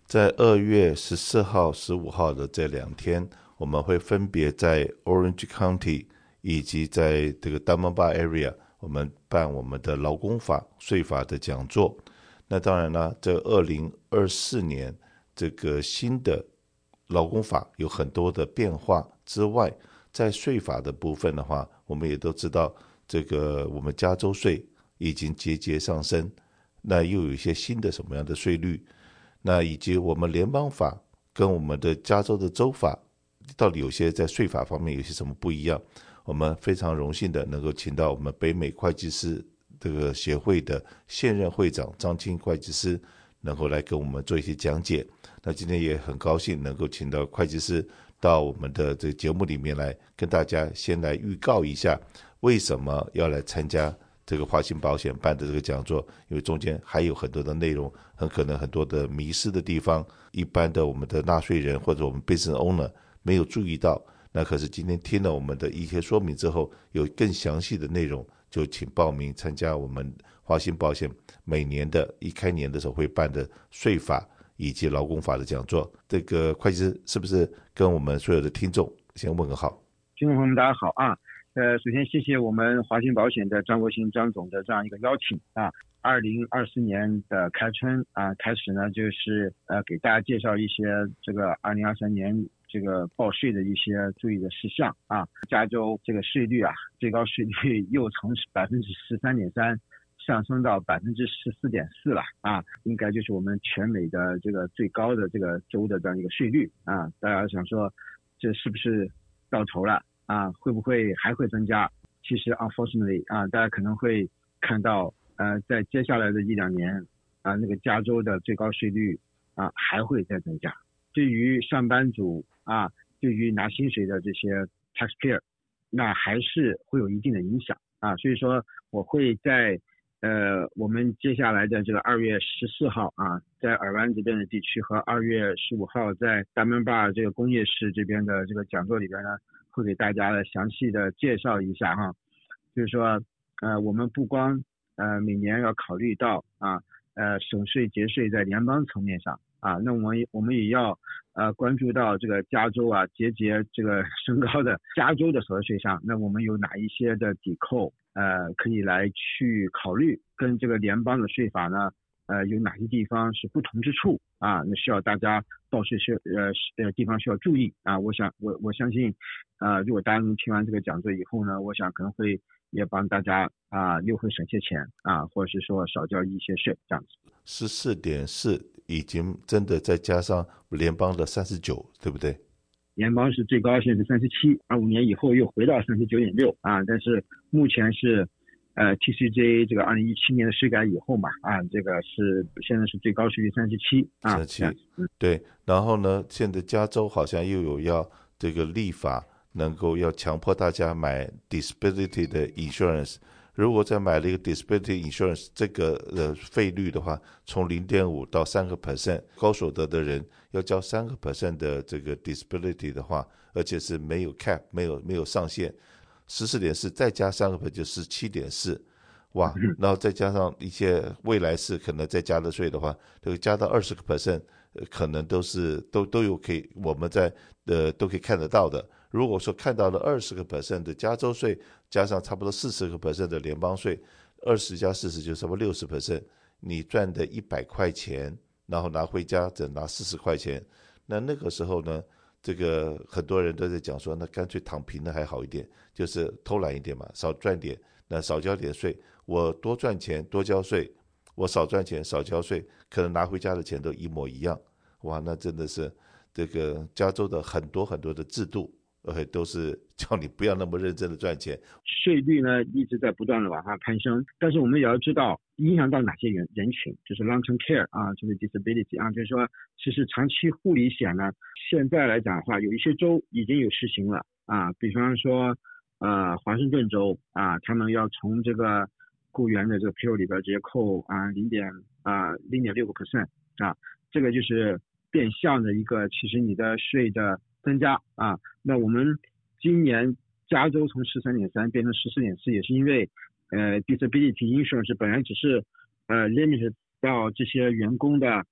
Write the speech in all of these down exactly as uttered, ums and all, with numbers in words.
在二月十四號、十五號的這兩天，我們會分別在 Orange County 以及在這個 Diamond Bar Area， 我們辦我們的勞工法、稅法的講座。那當然了，這二零二四年這個新的勞工法有很多的變化之外，在稅法的部分的話，我們也都知道，這個我們加州稅已經節節上升，那又有一些新的什麼樣的稅率，那以及我們聯邦法跟我們的加州的州法到底有些在稅法方面有些什麼不一樣？我們非常榮幸的能夠請到我們北美會計師這個協會的現任會長張青會計師，能夠來跟我們做一些講解。那今天也很高興能夠請到會計師到我們的這個節目裡面來，跟大家先來預告一下為什麼要來參加這個華信保險辦的這個講座，因為中間還有很多的內容，很可能很多的迷失的地方，一般的我們的納稅人或者我們 business owner 沒有注意到。那可是今天聽了我們的一些說明之後，有更詳細的內容，就請報名參加我們華信保險每年的一開年的時候會辦的稅法以及勞工法的講座。這個會計師是不是跟我們所有的聽眾先問個好？ 聽眾朋友們大家好啊，呃，首先謝謝我們華信保險的張國興張總的這樣一個邀請啊。二零二四年的開春啊，開始呢就是呃給大家介紹一些這個二零二三年這個報稅的一些注意的事項啊。加州這個稅率啊，最高稅率又從百分之十三點三上升到百分之十四點四了啊，應該就是我们全美的這個最高的這個州的這樣一個稅率啊。大家想說這是不是到頭了啊？會不會還會增加？其實 unfortunately 啊，大家可能會看到呃，在接下來的一兩年啊，那個加州的最高稅率啊還會再增加。對於上班族啊，對於拿薪水的這些 taxpayer， 那還是會有一定的影響啊。所以說，我會在呃我們接下來的這個二月十四號啊，在爾灣這邊的地區和二月十五號在 Diamond Bar 這個工業市這邊的這個講座裡邊呢，會給大家詳細的介紹一下哈、啊。就是說，呃，我們不光呃，每年要考慮到啊，呃，省稅節稅在聯邦層面上啊，那我們我們也要呃關注到這個加州啊節節這個升高的加州的所得稅上，那我們有哪一些的抵扣呃可以來去考慮，跟這個聯邦的稅法呢呃有哪些地方是不同之處啊？那需要大家報稅需呃呃地方需要注意啊。我想我我相信啊、呃，如果大家能聽完這個講座以後呢，我想可能會也幫大家啊又會省些錢啊，或者是說少交一些稅這樣子。 十四點四已經真的再加上聯邦的三十九，對不對？ 聯邦是最高現在是三十七，二五年以後又回到三十九點六啊，但是目前是呃 T C J 這個二零一七年的稅改以後嘛啊，這個是現在是最高稅率三十七啊， 三十七，對。然後呢，現在加州好像又有要這個立法，能夠要強迫大家買 disability 的 insurance。如果再買了一個 disability insurance 這個呃費率的話，從零點五到三個 percent， 高所得的人要交三個 percent 的這個 disability 的話，而且是沒有 cap， 沒有沒有上限，十四點四再加三個 percent 就十七點四，哇！然後再加上一些未來是可能再加的稅的話，這個加到二十個 percent， 可能都是都都有可以我們在呃都可以看得到的。如果說看到了二十個 percent 的加州稅，加上差不多四十個 percent 的聯邦稅，二十加四十就差不多六十 percent， 你賺的一百塊錢，然後拿回家只拿四十塊錢，那那個時候呢，這個很多人都在講說，那乾脆躺平的還好一點，就是偷懶一點嘛，少賺點，那少交點稅，我多賺錢多交稅，我少賺錢少交稅，可能拿回家的錢都一模一樣，哇，那真的是這個加州的很多很多的制度。呃，都是叫你不要那麼認真的賺錢。 稅率呢一直在不斷的往上攀升，但是我們也要知道影響到哪些人人群，就是 long-term care 啊，就是 disability 啊，就是說其實長期護理險呢，現在來講的話，有一些州已經有實行了啊，比方說呃華盛頓州啊，他們要從這個雇員的這個 payroll 裡邊直接扣啊零點啊零點六個 percent 啊，這個就是變相的一個其實你的稅的增加啊，那我們今年加州從十三點三變成十四點四，也是因為呃 disability insurance 本來只是呃 limited 到這些員工的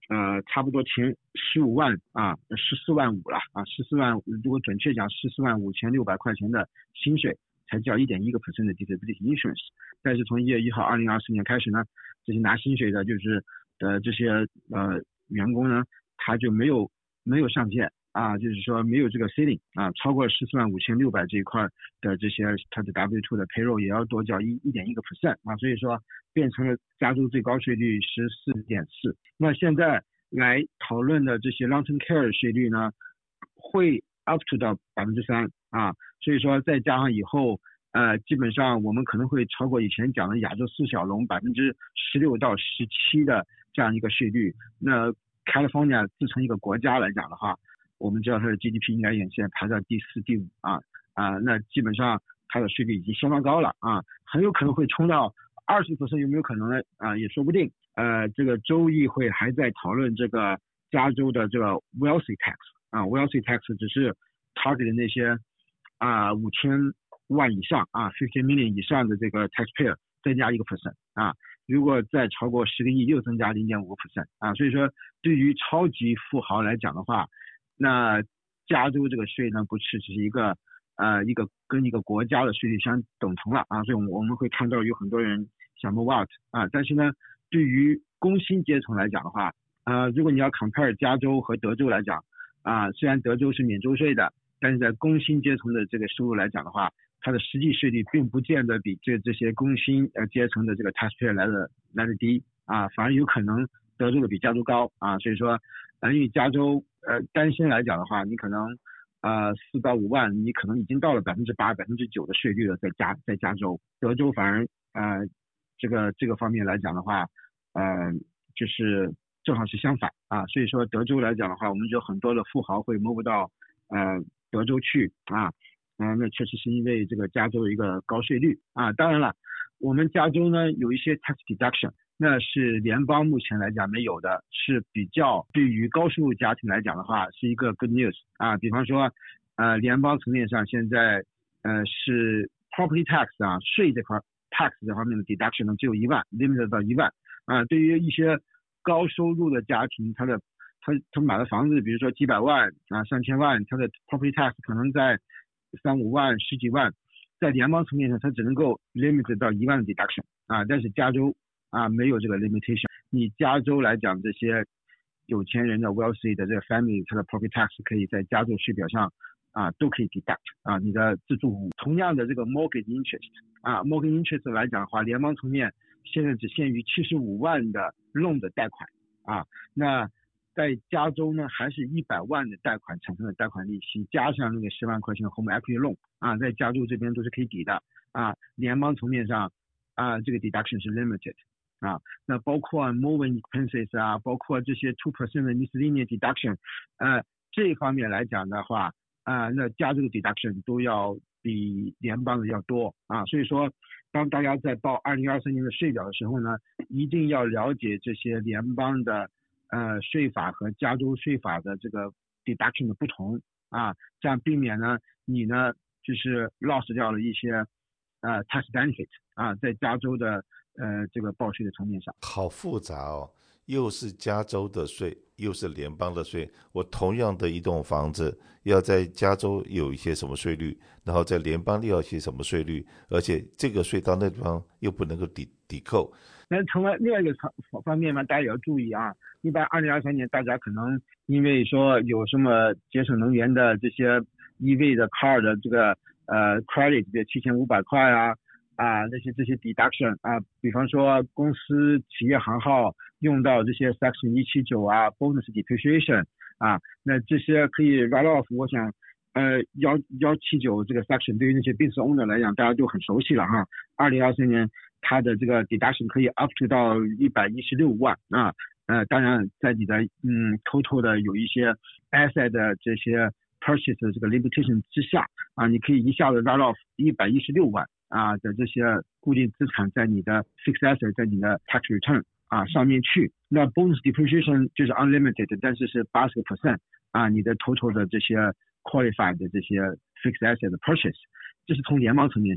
呃差不多前十五萬啊十四萬五了啊十四萬，如果準確講十四萬五千六百塊錢的薪水才交一點一個 percent 的 disability insurance。但是從一月一號二零二四年開始呢，這些拿薪水的就是呃這些呃員工呢，他就沒有沒有上限啊，就是說沒有這個 ceiling 啊，超過十四萬五千六百這一塊的這些他的 W 二 的 payroll 也要多交一一點一個 percent 啊，所以說變成了加州最高稅率十四點四。那現在來討論的這些 long-term care 稅率呢，會 up to 到百分之三啊，所以說再加上以後呃，基本上我們可能會超過以前講的亞洲四小龍百分之十六到十七的這樣一個稅率。那 California 自成一個國家來講的話，我們知道它的 G D P 應該也現在排到第四、第五啊啊，那基本上它的稅率已經相當高了啊，很有可能會衝到二十 percent， 有沒有可能呢？啊，也說不定。呃，這個州議會還在討論這個加州的這個 wealthy tax 啊 ，wealthy tax 只是 target 那些啊五千萬以上啊，fifty million 以上的這個 taxpayer 增加一個 percent 啊，如果再超過十個億又增加零點五個 percent 啊，所以說對於超級富豪來講的話，那加州這個稅呢不是只是一個呃一個跟一個國家的稅率相等同了啊，所以我們會看到有很多人想 move out 啊，但是呢對於工薪階層來講的話，呃如果你要 compare 加州和德州來講啊，雖然德州是免州稅的，但是在工薪階層的這個收入來講的話，它的實際稅率並不見得比這這些工薪呃階層的這個 taxpayer 來的來的低啊，反而有可能德州的比加州高啊，所以說呃因為加州呃單身來講的話，你可能呃四到五萬，你可能已經到了百分之八、百分之九的稅率了，在加在加州，德州反而呃這個這個方面來講的話，呃就是正好是相反啊，所以說德州來講的話，我們有很多的富豪會 move 到呃德州去啊。啊、呃，那確實是因為這個加州有一個高稅率啊。當然了，我們加州呢有一些 tax deduction， 那是聯邦目前來講沒有的，是比較對於高收入家庭來講的話是一個 good news 啊。比方說，呃，聯邦層面上現在呃是 property tax 啊，稅這塊 tax 這方面的 deduction 呢只有一萬 ，limit 到一萬啊。對於一些高收入的家庭，他的他他買的房子，比如說幾百萬啊、上千萬，他的 property tax 可能在三五萬、十幾萬，在聯邦層面上，它只能夠 limit 到一萬的 deduction 啊，但是加州啊沒有這個 limitation。你加州來講，這些有錢人的 wealthy 的這個 family，它的 property tax 可以在加州稅表上啊都可以 deduct 啊，你的自住物。同樣的這個 mortgage interest 啊 ，mortgage interest 來講的話，聯邦層面現在只限於七十五萬的 loan 的貸款啊，那在加州呢，還是一百萬的貸款產生的貸款利息，加上那個十萬塊錢的 home equity loan 啊，在加州這邊都是可以抵的啊。聯邦層面上啊，這個 deduction 是 limited 啊。那包括 moving expenses 啊，包括這些 two percent 的 miscellaneous deduction， 呃，這一方面來講的話啊，那加州的 deduction 都要比聯邦的要多啊。所以說，當大家在報二零二三年的稅表的時候呢，一定要了解這些聯邦的呃，稅法和加州稅法的這個 deduction 的不同啊，這樣避免呢，你呢就是 lost 掉了一些呃 tax benefit 啊，在加州的呃這個報稅的層面上。 好複雜哦，又是加州的稅，又是聯邦的稅。我同樣的一棟房子，要在加州有一些什麼稅率，然後在聯邦又要一些什麼稅率，而且這個稅到那地方又不能夠抵抵扣。 那從另外一個方面呢，大家也要注意啊。一般二零二三年，大家可能因為說有什麼節省能源的這些 E V 的 car 的這個呃 credit 的七千五百塊啊啊那些這些 deduction 啊，比方說公司企業行號用到這些 section 一七九啊 bonus depreciation 啊，那這些可以 write off。我想呃幺幺七九這個 section 對於那些 business owner 來講，大家都很熟悉了哈。二零二三年它的這個 deduction 可以 up to 到一百一十六萬啊，呃，當然在你的嗯 total 的有一些 asset 的這些 purchase 的這個 limitation 之下啊，你可以一下子 write off 一百一十六萬啊的這些固定資產在你的 fixed asset 在你的 tax return 啊上面去。那 bonus depreciation 就是 unlimited， 但是是八十個 percent 啊，你的 total 的這些 qualified 的這些 fixed asset 的 purchase， 這是從聯邦層面上。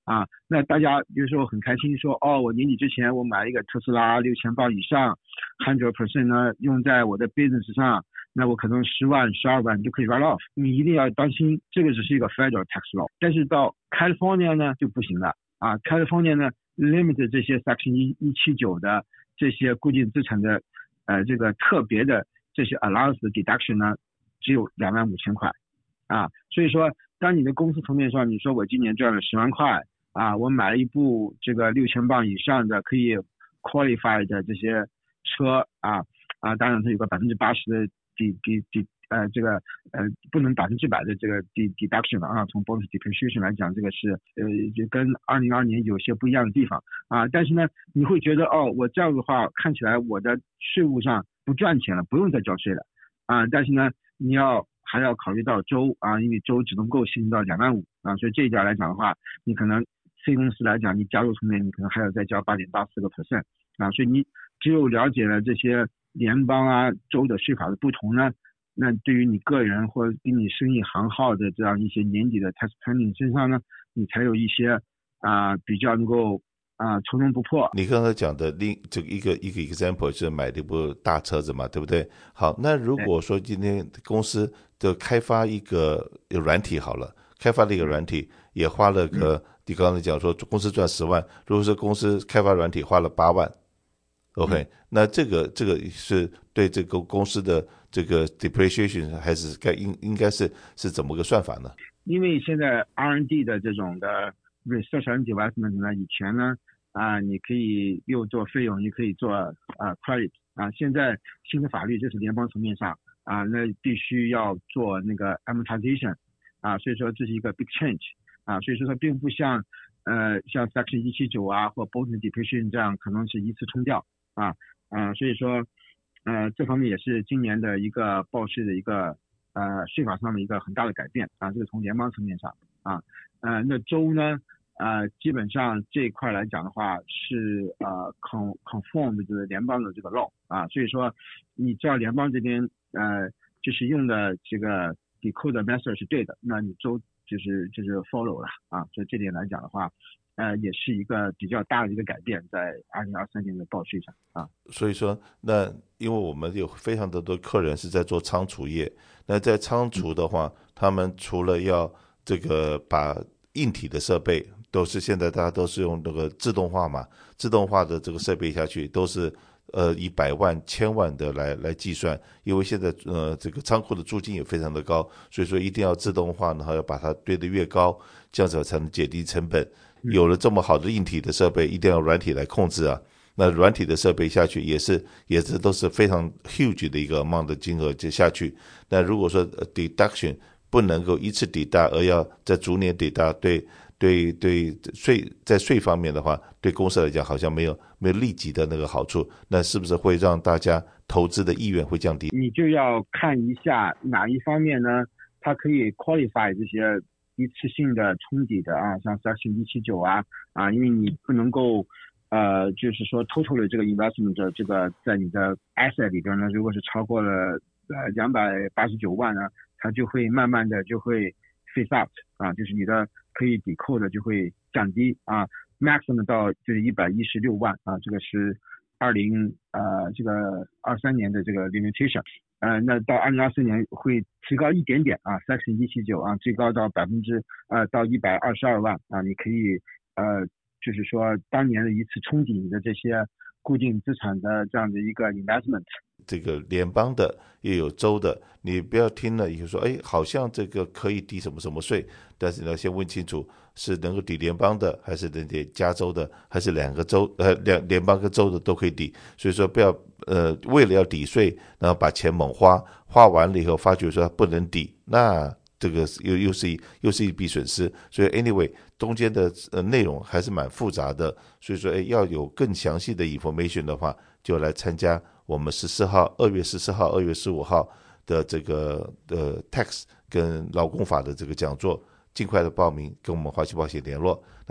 啊，那大家比如說很開心說，哦，我年底之前我買一個特斯拉六千磅以上 hundred percent 呢用在我的 business 上，那我可能十萬十二萬就可以 write off。你一定要當心，這個只是一個 federal tax law， 但是到 California 呢就不行了啊 ，California 呢 limit 這些 section 一七九的這些固定資產的呃這個特別的這些 allowance 的 deduction 呢只有兩萬五千塊啊，所以說當你的公司層面上你說我今年賺了十萬塊。啊，我買了一部這個六千磅以上的可以 qualify 的這些車啊啊，當然它有個百分之八十的 d d d 呃這個呃不能百分之百的這個 d deduction 啊，從 bonus depreciation 來講，這個是呃就跟二零二二年有些不一樣的地方啊，但是呢，你會覺得哦，我這樣的話看起來我的稅務上不賺錢了，不用再交稅了啊，但是呢，你要還要考慮到州啊，因為州只能夠吸引到兩萬五啊，所以這一點來講的話，你可能C公司來講，你加入層面，你可能還要再交八點八四個 percent 啊，所以你只有了解了這些聯邦啊、州的稅法的不同呢，那對於你個人或者給你生意行號的這樣一些年底的 tax planning 身上呢，你才有一些啊、呃、比較能夠啊從容不迫。 你剛才講的另這個一個一個 example 是買了一部大車子嘛，對不對？好，那如果說今天公司的開發一個軟體好了，開發了一個軟體也花了個。嗯你剛才講說公司賺十萬，如果說公司開發軟體花了八萬 ，OK，、嗯、那這個這個是對這個公司的這個 depreciation 還是該應應該是是怎麼個算法呢？ 因為現在 R and D 的這種的 research and development 呢，以前呢啊你可以又做費用，也可以做啊 credit 啊，現在新的法律就是聯邦層面上啊，那必須要做那個 amortization 啊，所以說這是一個 big change。啊，所以說它並不像，呃，像 Section 一七九啊或 bonus depreciation 這樣可能是一次沖掉啊，啊，所以說，呃，這方面也是今年的一個報稅的一個呃稅法上的一個很大的改變啊，這個從聯邦層面上啊，呃，那州呢，呃，基本上這一塊來講的話是呃 conform 的這個聯邦的這個 law 啊，所以說你只要聯邦這邊呃就是用的這個 decode method 是對的，那你州。就是就是 follow 了啊，所以這點來講的話，呃，也是一個比較大的一個改變，在二零二三年的報稅上啊。 所以說，那因為我們有非常多的客人是在做倉儲業，那在倉儲的話，嗯、他們除了要這個把硬體的設備，都是現在大家都是用那個自動化嘛，自動化的這個設備下去都是。呃，以百萬、千萬的來來計算，因為現在呃這個倉庫的租金也非常的高，所以說一定要自動化，然後要把它堆得越高，這樣子才能減低成本。有了這麼好的硬體的設備，一定要軟體來控制啊。那軟體的設備下去也是也是都是非常 huge 的一個 amount 的金額就下去。那如果說 deduction 不能夠一次抵達，而要在逐年抵達，對。對對，稅在稅方面的話，對公司來講好像沒有沒有立即的那個好處，那是不是會讓大家投資的意願會降低？ 你就要看一下哪一方面呢？它可以 qualify 這些一次性的沖抵的啊，像 Section 一七九啊啊，因為你不能夠呃，就是說 total 的這個 investment 的這個在你的 asset 裡邊呢，如果是超過了呃兩百八十九萬呢，它就會慢慢的就會 phase out 啊，就是你的。可以抵扣的就會降低啊 ，maximum 到就是一百一十六萬啊，這個是二零呃這個二三年的這個 limitation， 呃，那到二零二四年會提高一點點啊 ，section 一七九啊，最高到百分之呃到一百二十二萬啊，你可以呃就是說當年的一次沖抵你的這些固定資產的這樣的一個 investment。 這個聯邦的也有州的，你不要聽了以後說，哎，好像這個可以抵什麼什麼稅，但是你要先問清楚，是能夠抵聯邦的，還是能抵加州的，還是兩個州呃兩聯邦跟州的都可以抵。所以說不要呃為了要抵稅，然後把錢猛花，花完了以後發覺說不能抵，那這個又又是一又是一筆損失。所以 anyway 中間的呃內容還是蠻複雜的，所以說哎要有更詳細的 information 的話，就來參加我們十四號、二月十四號、二月十五號的這個的 tax 跟勞工法的這個講座，盡快的報名，跟我們華僑保險聯絡。